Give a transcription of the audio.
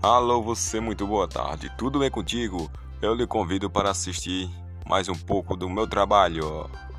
Alô, você, muito boa tarde. Tudo bem contigo? Eu lhe convido para assistir mais um pouco do meu trabalho.